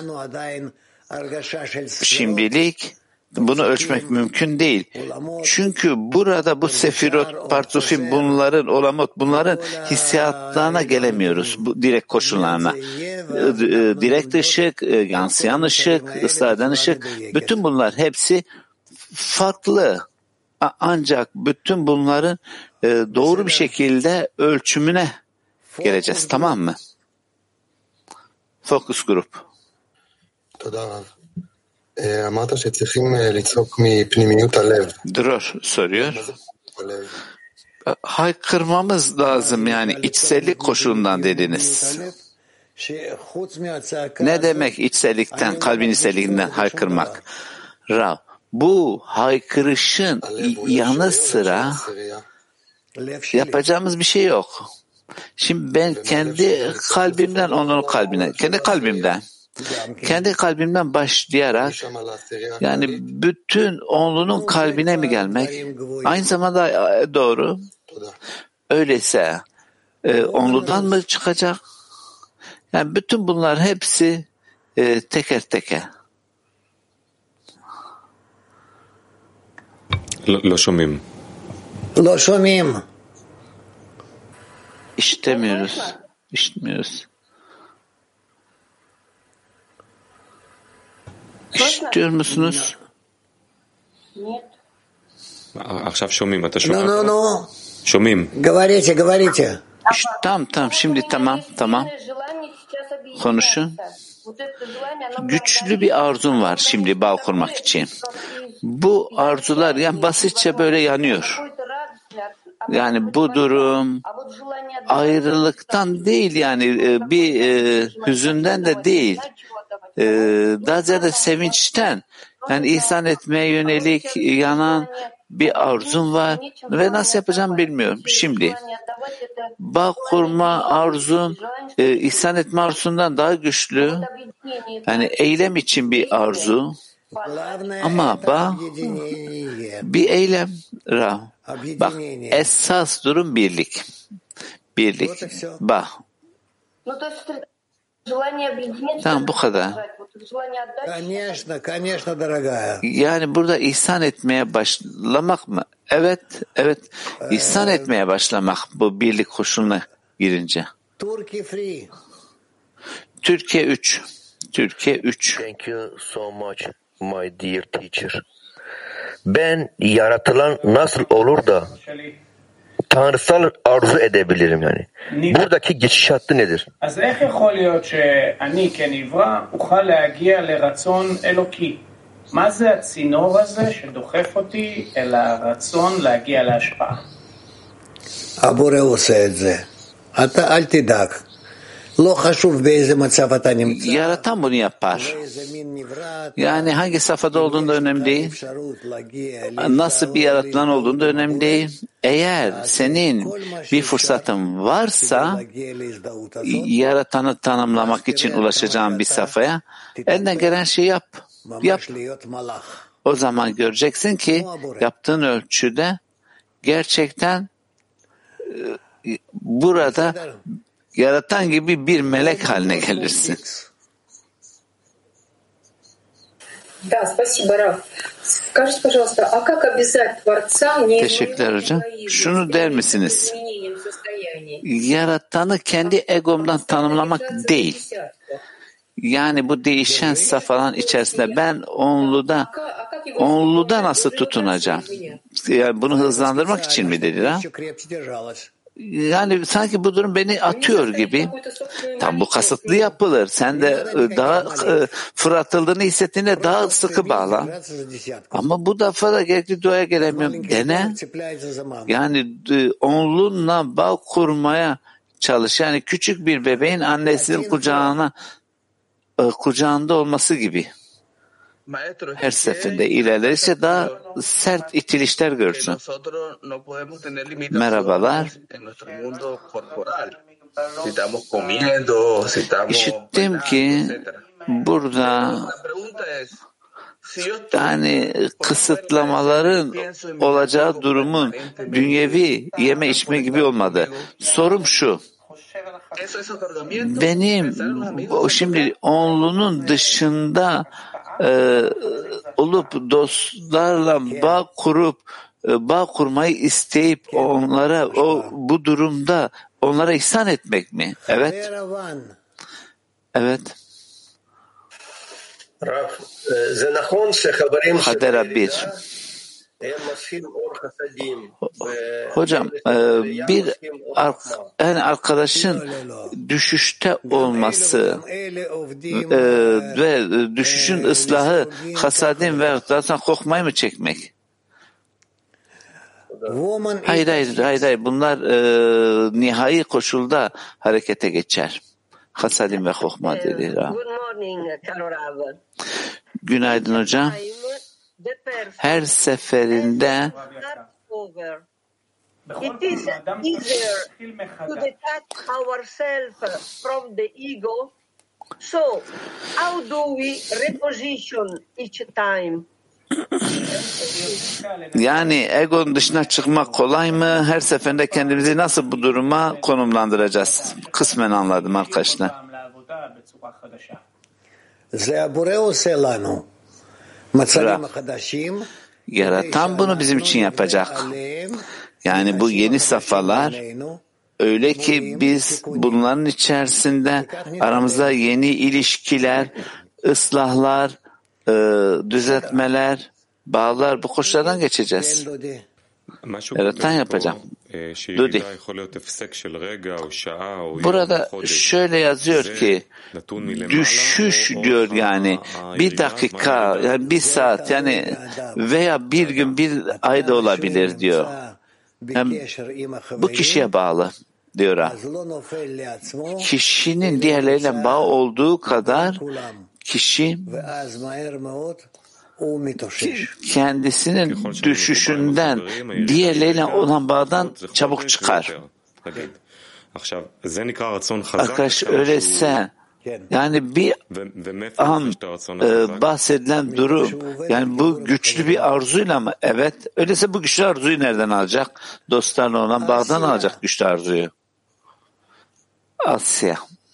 Şimdilik bunu ölçmek mümkün değil. Çünkü burada bu sefirot, partufim, bunların olamot, bunların hissiyatlarına gelemiyoruz. Bu direkt koşullarına. Direkt ışık, yansıyan ışık, ıslah eden ışık, bütün bunlar hepsi farklı. Ancak bütün bunların doğru bir şekilde ölçümüne geleceğiz. Tamam mı? Focus grup. Dror soruyor. Haykırmamız lazım, yani içsellik koşulundan dediniz. Ne demek içsellikten, kalbin içselliğinden haykırmak? Bu haykırışın yanı sıra yapacağımız bir şey yok. Şimdi ben kendi kalbimden, onun kalbine, kendi kalbimden başlayarak, yani bütün onlunun kalbine mi gelmek? Aynı zamanda doğru. Öyleyse onludan mı çıkacak? Yani bütün bunlar hepsi teker teker. לא שומעים. İşitmiyoruz. İşitiyor musunuz? עכשיו שומעים, אתה שומע? נו. שומעים. Говорите. Tamam, şimdi tamam. Konuşun. Güçlü bir arzum var şimdi bağ kurmak için. Bu arzular yani basitçe böyle yanıyor. Yani bu durum ayrılıktan değil, yani bir hüzünden de değil. Daha ziyade sevinçten, yani ihsan etmeye yönelik yanan bir arzum var ve nasıl yapacağım bilmiyorum. Şimdi bağ kurma arzum ihsan etme arzundan daha güçlü. Yani eylem için bir arzu. Ama bağ bir eylem. Bak, esas durum birlik. Bağ. Tamam, bu kadar. Yani burada ihsan etmeye başlamak mı? Evet. İhsan etmeye başlamak bu birlik koşuluna girince. Türkiye 3. Thank you so much, my dear teacher. Ben yaratılan nasıl olur da tanrısal arzu edebilirim yani. Buradaki geçiş hattı nedir? אז איך יכול להיות שאני כנברא אוכל להגיע לרצון אלוקי? מה זה הצינור הזה שדוחף אותי אל הרצון להגיע להשפעה? הבורא עושה את זה. אתה אל תדאג. Yaratan bunu yapar. Yani hangi safhada olduğunda önemli değil. Nasıl bir yaratılan olduğunda önemli değil. Eğer senin bir fırsatın varsa yaratanı tanımlamak için ulaşacağın bir safhaya elinden gelen şeyi yap. O zaman göreceksin ki yaptığın ölçüde gerçekten burada yaratan gibi bir melek haline gelirsin. Да, спасибо, Раф. Скажите, пожалуйста, а как обязать Творца не Teşekkürler hocam. Şunu der misiniz? Yaratanı kendi egomdan tanımlamak değil. Yani bu değişen safhaların içerisinde ben onluda nasıl tutunacağım? Yani bunu hızlandırmak için mi dedi ha? Yani sanki bu durum beni atıyor gibi. Tam bu kasıtlı yapılır. Sen de daha fırlatıldığını hissettiğinde daha sıkı bağla. Ama bu defa da gerekli duaya gelemiyorum. Dene. Yani onlunla bağ kurmaya çalış. Yani küçük bir bebeğin annesinin kucağında olması gibi. Her seferinde ilerlerse daha sert itilişler görsün. Merhabalar. İşittim ki burada yani kısıtlamaların olacağı durumun dünyevi yeme içme gibi olmadı. Sorum şu. Benim şimdi onlunun dışında olup dostlarla bağ kurmayı isteyip onlara bu durumda onlara ihsan etmek mi? Evet. Evet. Hadera 1. Hocam bir arkadaşın düşüşte olması ve düşüşün ıslahı hasadin ve zaten korkmayı mı çekmek? Hayır. Bunlar nihai koşulda harekete geçer. Hasadim ve korkma dedi. Günaydın hocam. Her seferinde it is easier to detach ourselves from the ego. So, how do we reposition each time? Yani egonun dışına çıkmak kolay mı? Her seferinde kendimizi nasıl bu duruma konumlandıracağız? Kısmen anladım arkadaşlar. Yaratan bunu bizim için yapacak. Yani bu yeni safhalar öyle ki biz bunların içerisinde aramızda yeni ilişkiler, ıslahlar, düzeltmeler, bağlar, bu koşullardan geçeceğiz. Yaratan yapacağım. Dudi. Burada şöyle yazıyor ki düşüş diyor yani bir dakika, yani bir saat yani veya bir gün bir ay da olabilir diyor. Hem bu kişiye bağlı diyor ha. Kişinin diğerleriyle bağ olduğu kadar kişi kendisinin düşüşünden diğerleriyle olan bağdan çabuk çıkar. Arkadaş öyleyse yani bir an bahsedilen durum yani bu güçlü bir arzuyla mı? Evet. Öyleyse bu güçlü arzuyu nereden alacak? Dostlarla olan bağdan alacak güçlü arzuyu. Asya.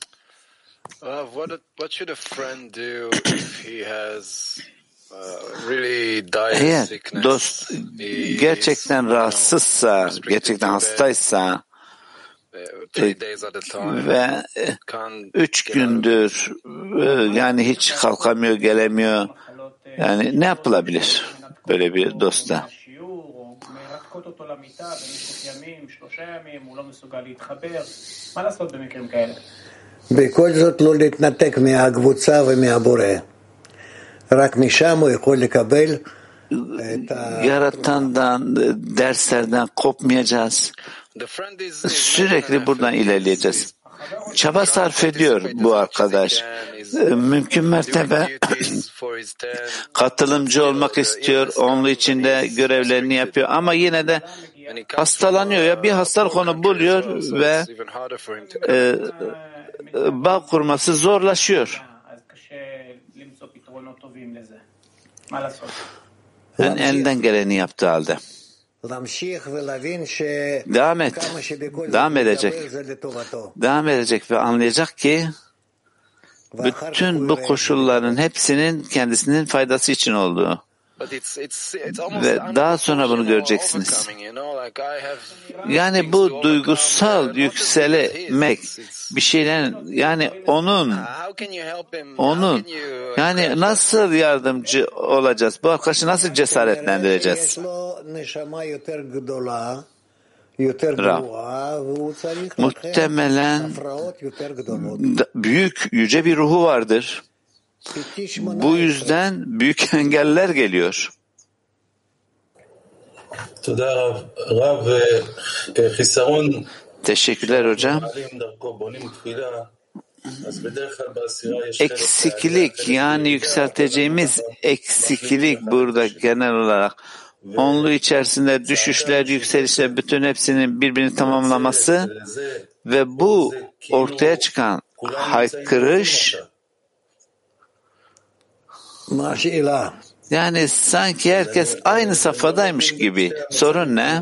What should a friend do if he has really eğer dost gerçekten rahatsızsa, gerçekten hastaysa ve 3 gündür yani hiç kalkamıyor, gelemiyor. Yani ne yapılabilir böyle bir dosta? בכל זאת לא להתנתק מהקבוצה ומהבורא. רק משם הוא יכול לקבל Yaratandan, derslerden kopmayacağız. Sürekli buradan ilerleyeceğiz. çaba sarf ediyor bu arkadaş. Mümkün mertebe katılımcı olmak istiyor, onun için de görevlerini yapıyor ama yine de hastalanıyor ya bir hastalık onu buluyor ve bağ kurması zorlaşıyor. Yani elinden geleni yaptığı halde. Devam edecek ve anlayacak ki bütün bu koşulların hepsinin kendisinin faydası için olduğu. Ve daha sonra bunu göreceksiniz. Yani bu duygusal yükselmek bir şeylerin yani onun yani nasıl yardımcı olacağız? Bu arkadaşı nasıl cesaretlendireceğiz? Muhtemelen büyük yüce bir ruhu vardır. Bu yüzden büyük engeller geliyor. Teşekkürler hocam. Eksiklik yani yükselteceğimiz eksiklik burada genel olarak onlu içerisinde düşüşler, yükselişler bütün hepsinin birbirini tamamlaması ve bu ortaya çıkan haykırış yani sanki herkes aynı safhadaymış gibi. Sorun ne?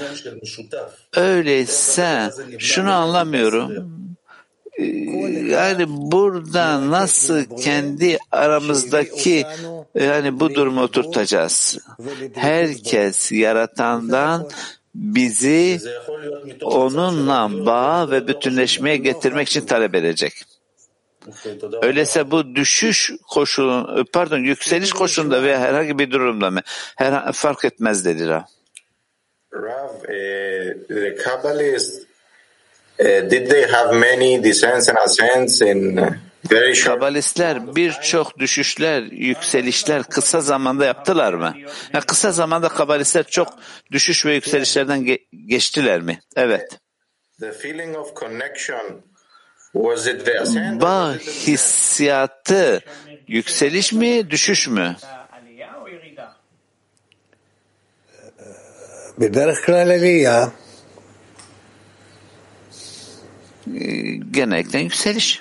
Öyleyse şunu anlamıyorum. Yani burada nasıl kendi aramızdaki yani bu durumu oturtacağız? Herkes yaratandan bizi onunla bağ ve bütünleşmeye getirmek için talep edecek. Öyleyse bu yükseliş koşulunda veya herhangi bir durumda mı? Fark etmez dedi Rav. The Kabbalists, did they have many descents and ascents in very short? Kabalistler birçok düşüşler, yükselişler kısa zamanda yaptılar mı? Yani kısa zamanda kabalistler çok düşüş ve yükselişlerden geçtiler mi? Evet. The feeling of connection, was it the ascent? Bağ hissiyatı yükseliş mi, düşüş mü? Genellikle yükseliş.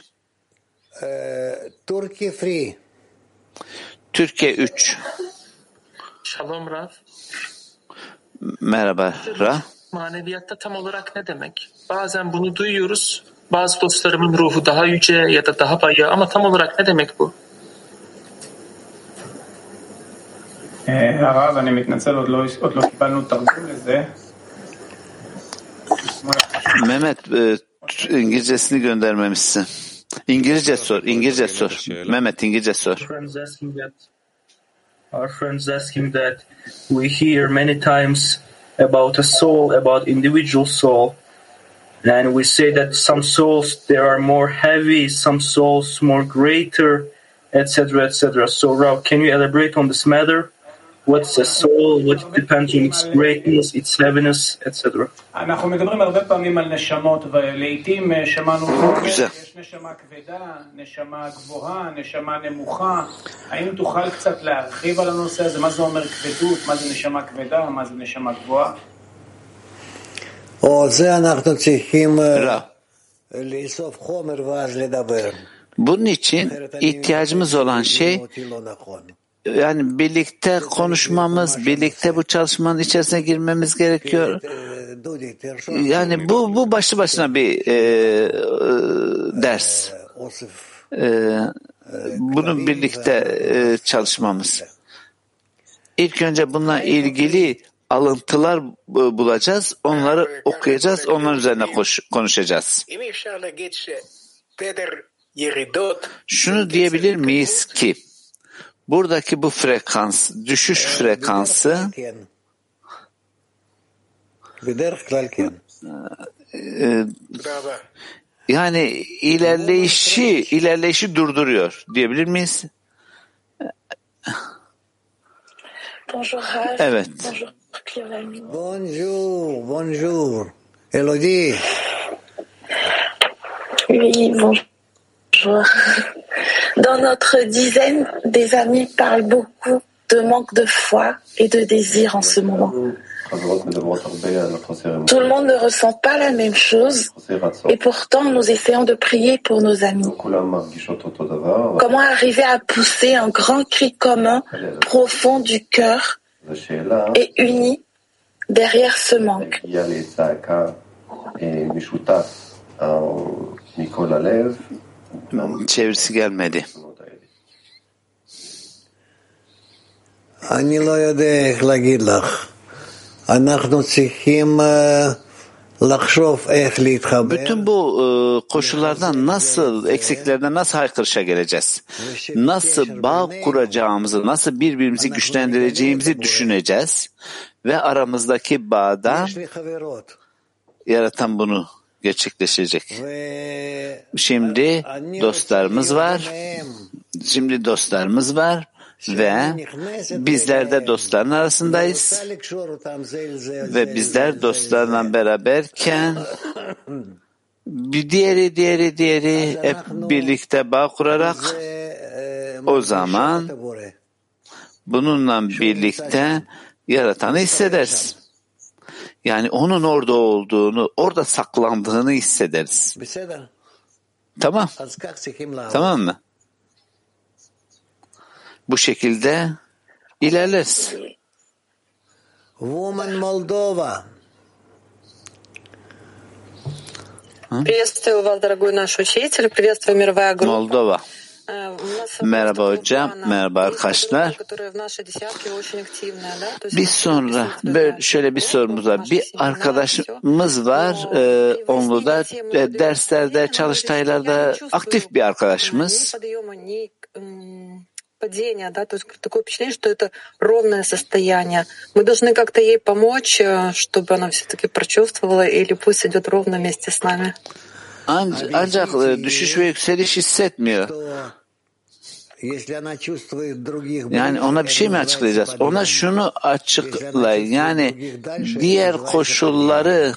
Türkiye 3. Shalom Rav. Merhaba Rav. Maneviyatta tam olarak ne demek? Bazen bunu duyuyoruz. Bazı dostlarımın ruhu daha yüce ya da daha bayağı ama tam olarak ne demek bu? הרב, אני מתנצל, עוד לא קיבלנו תרגום לזה. Mehmet İngilizcesini göndermemişsin. İngilizce sor. Mehmet İngilizce sor. Our friends asking that we hear many times about a soul, about individual soul. And we say that some souls, they are more heavy, some souls more greater, etc., etc. So, Rav, can you elaborate on this matter? What's a soul? What depends on its greatness, its heaviness, etc. אנחנו מדברים הרבה פעמים על נשמות, ולעיתים שמענו שיש נשמה כבדה, נשמה גבוהה, נשמה נמוכה. האם תוכל קצת להרחיב על הנושא הזה? מה זה אומר כבדות? מה זה נשמה כבדה? מה זה נשמה גבוהה? Bunun için ihtiyacımız olan şey yani birlikte konuşmamız, birlikte bu çalışmanın içerisine girmemiz gerekiyor. Yani bu başlı başına bir ders. Bunu birlikte çalışmamız. İlk önce bununla ilgili alıntılar bulacağız, onları okuyacağız, onların üzerine konuşacağız. Şunu diyebilir miyiz ki buradaki bu frekans, düşüş frekansı yani ilerleyişi durduruyor diyebilir miyiz? Evet. Bonjour. Elodie. Oui, bonjour. Dans notre dizaine, des amis parlent beaucoup de manque de foi et de désir en ce moment. Tout le monde ne ressent pas la même chose et pourtant nous essayons de prier pour nos amis. Comment arriver à pousser un grand cri commun, profond du cœur et uni derrière ce manque? Çevirisi gelmedi. אני לא יודע איך להגיד לך. אנחנו צריכים לחשוב איך להתחבר. Bütün bu koşullardan nasıl, eksiklerden nasıl haykırışa geleceğiz? Nasıl bağ kuracağımızı, nasıl birbirimizi güçlendireceğimizi düşüneceğiz. Ve aramızdaki bağda yaratan bunu gerçekleşecek. Şimdi dostlarımız var ve bizler de dostların arasındayız ve bizler dostlarla beraberken bir diğeri hep birlikte bağ kurarak o zaman bununla birlikte yaratanı hissederiz. Yani onun orada olduğunu, orada saklandığını hissederiz. Tamam. Tamam mı? Bu şekilde ilerleriz. Woman Moldova. Приветствую вас, дорогой наш учитель. Приветствую, мировая группа. Moldova. Merhaba hocam, merhaba arkadaşlar. Bir sonra şöyle bir sorumuz var. Bir arkadaşımız var, Onlu'da derslerde, çalıştaylarda aktif bir arkadaşımız. Падение, да, то есть такое впечатление, что это ровное состояние. Мы должны как-то ей помочь, чтобы она все-таки прочувствовала, или пусть идет ровно вместе с нами. Ancak düşüş ve yükseliş hissetmiyor. Yani ona bir şey mi açıklayacağız? Ona şunu açıklayın. Yani diğer koşulları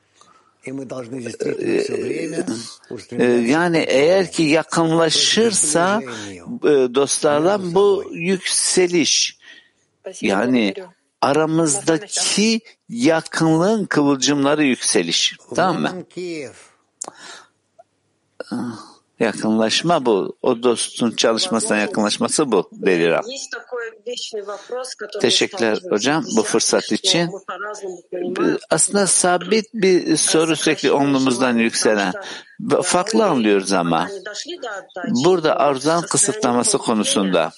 yani eğer ki yakınlaşırsa dostlarla bu yükseliş, yani aramızdaki yakınlığın kıvılcımları yükseliş. Tamam mı? Yakınlaşma bu. O dostun çalışmasına yakınlaşması bu. Deliram. Teşekkürler hocam bu fırsat için. Aslında sabit bir soru sürekli omlumuzdan yükselen. Farklı anlıyoruz ama. Burada arzunun kısıtlaması konusunda.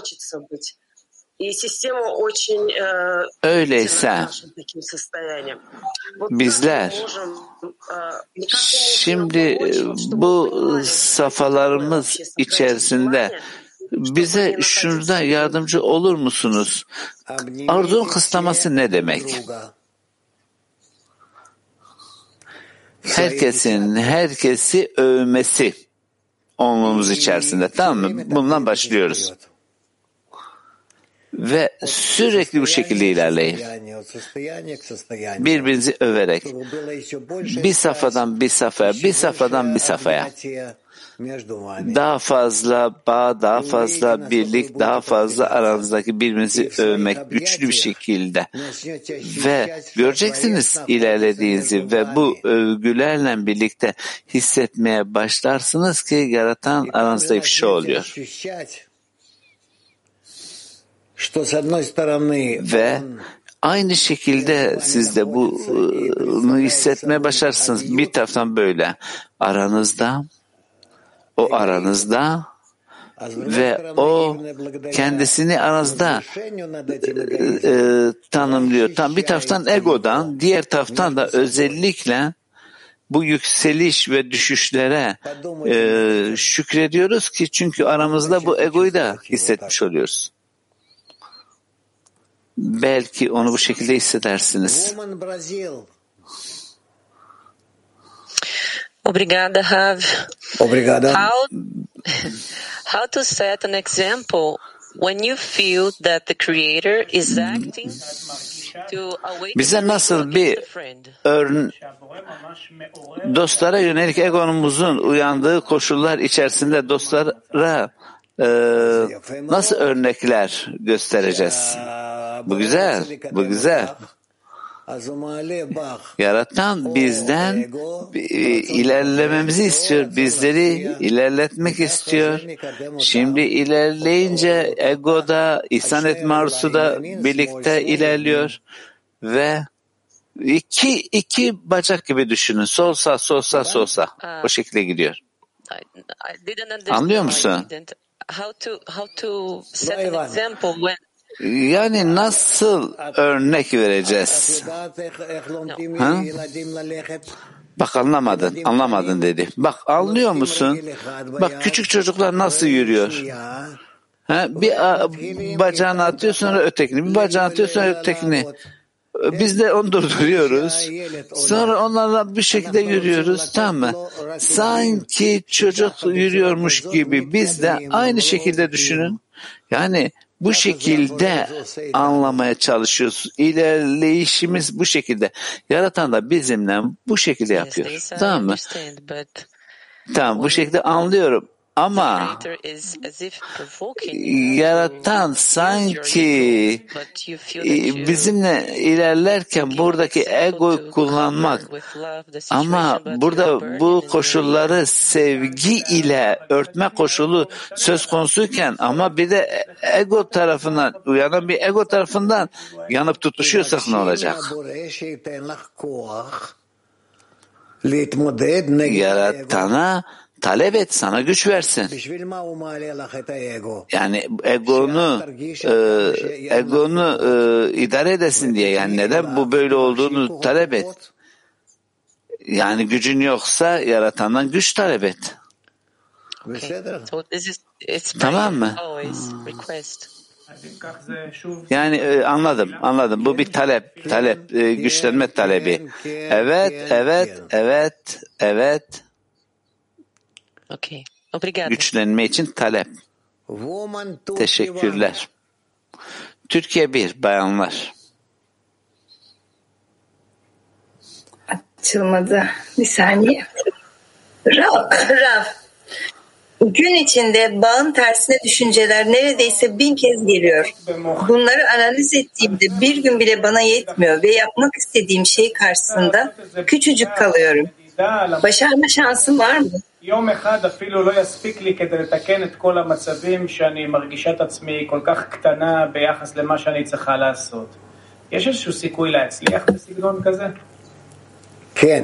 Öyleyse bizler şimdi bu safhalarımız içerisinde bize şurada yardımcı olur musunuz? Arzunun kısıtlaması ne demek? Herkesi övmesi olmamız içerisinde, tamam mı? Bundan başlıyoruz. Ve sürekli bu şekilde ilerleyin. Birbirinizi överek. Bir safhadan bir safhaya. Daha fazla bağ, daha fazla birlik, daha fazla aranızdaki birbirinizi övmek güçlü bir şekilde. Ve göreceksiniz ilerlediğinizi ve bu övgülerle birlikte hissetmeye başlarsınız ki yaratan aranızda ifşa oluyor. Ve aynı şekilde siz de bunu hissetmeye başlarsınız. Bir taraftan böyle aranızda, o aranızda ve o kendisini aranızda tanımlıyor. Tam bir taraftan egodan, diğer taraftan da özellikle bu yükseliş ve düşüşlere şükrediyoruz ki çünkü aramızda bu egoyu da hissetmiş oluyoruz. Belki onu bu şekilde hissedersiniz. Obrigada, Rav. Obrigada. How to set an example when you feel that the Creator is acting to awaken bize nasıl bir dostlara yönelik egonumuzun uyandığı koşullar içerisinde dostlara nasıl örnekler göstereceğiz? Bu güzel, bu güzel. Yaratan bizden ilerlememizi istiyor, bizleri ilerletmek istiyor. Şimdi ilerleyince egoda, ihsan etme arzusu da birlikte ilerliyor ve iki bacak gibi düşünün. Sol sağ, sol sağ, sol sağ. O şekilde gidiyor. Anlıyor musun? Yani nasıl örnek vereceğiz? Ha? Bak anlamadın dedi. Bak anlıyor musun? Bak küçük çocuklar nasıl yürüyor? Ha? Bir bacağını atıyor sonra ötekini, bir bacağını atıyor sonra ötekini. Biz de onu durduruyoruz. Sonra onlarla bir şekilde yürüyoruz, tamam mı? Sanki çocuk yürüyormuş gibi biz de aynı şekilde düşünün. Yani bu şekilde anlamaya çalışıyoruz. İlerleyişimiz bu şekilde. Yaratan da bizimle bu şekilde yapıyor. Tamam mı? Tamam, bu şekilde anlıyorum. Ama yaratan sanki bizimle ilerlerken buradaki egoyu kullanmak, ama burada bu koşulları sevgi ile örtme koşulu söz konusuyken ama bir de ego tarafından, uyanan bir ego tarafından yanıp tutuşuyorsak ne olacak? Yaratana talep et, sana güç versin. Yani egonu idare edesin diye. Yani neden bu böyle olduğunu talep et. Yani gücün yoksa yaratandan güç talep et. Tamam mı? Yani anladım. Bu bir talep, güçlenme talebi. Evet. Güçlenme için talep. Teşekkürler. Türkiye 1, bayanlar. Açılmadı. Bir saniye. Rav. Gün içinde bağın tersine düşünceler neredeyse 1000 kez geliyor. Bunları analiz ettiğimde bir gün bile bana yetmiyor ve yapmak istediğim şey karşısında küçücük kalıyorum. Başarma şansım var mı? יום אחד אפילו לא יספיק לי כדי לתקן את כל המצבים שאני מרגישה את עצמי כל כך קטנה ביחס למה שאני צריכה לעשות. יש איזשהו סיכוי להצליח בסגנון כזה? כן.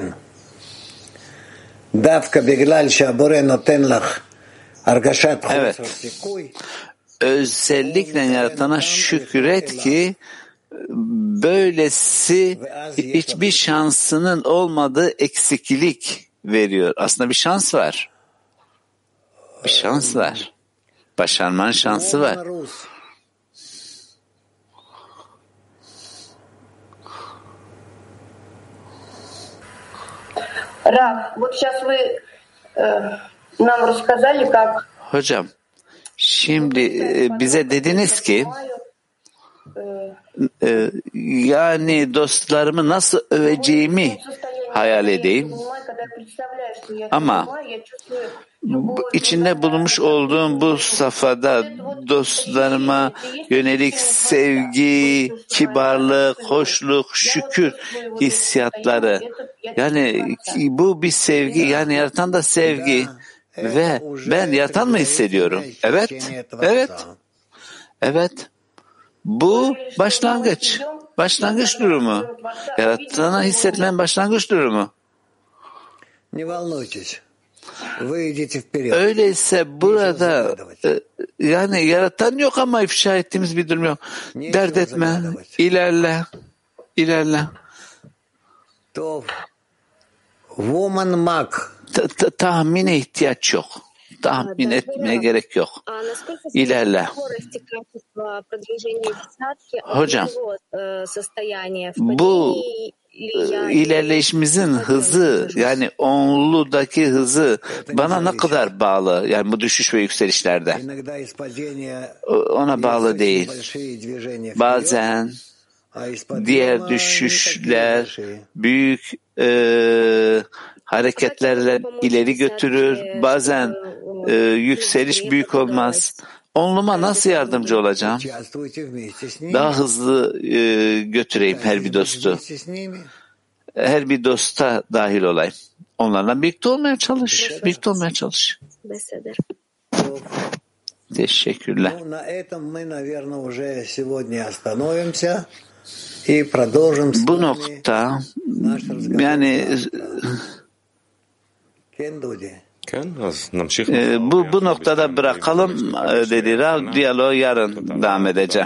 דווקא בגלל שהבורא נותן לך הרגשת חוסר סיכוי. Özellikle yaratana şükret ki böylesi hiçbir şansının olmadığı eksiklik veriyor. Aslında bir şans var. Başarmanın şansı var. Hocam, şimdi bize dediniz ki yani dostlarımı nasıl öveceğimi hayal edeyim. Ama içinde bulunmuş olduğum bu safhada dostlarıma yönelik sevgi, kibarlık, hoşluk, şükür hissiyatları. Yani bu bir sevgi, yani yaratan da sevgi ve ben yaratan mı hissediyorum? Evet. Bu başlangıç durumu. Yaratana hissetmenin başlangıç durumu. Öyleyse burada yani yaratan yok ama ifşa ettiğimiz bir durum yok. Dert etme, ilerle. Tahmine ihtiyaç yok. Tahmin etmeye gerek yok. İlerle. Hocam, bu ilerleyişimizin hızı, yani onludaki hızı bana ne kadar bağlı? Yani bu düşüş ve yükselişlerde. Ona bağlı değil. Bazen diğer düşüşler büyük hareketlerle ileri götürür. Bazen yükseliş büyük olmaz. Onluma nasıl yardımcı olacağım? Daha hızlı götüreyim her bir dostu. Her bir dosta dahil olayım. Onlarla birlikte olmaya çalış. Birlikte olmaya çalış. Teşekkürler. Bu nokta yani bu noktada bırakalım dedi Rav. Diyaloğu yarın devam edeceğim.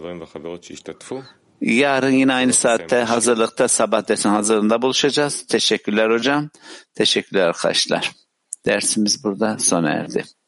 Yarın yine aynı saatte hazırlıkta sabah dersin hazırlığında buluşacağız. Teşekkürler hocam. Teşekkürler arkadaşlar. Dersimiz burada sona erdi.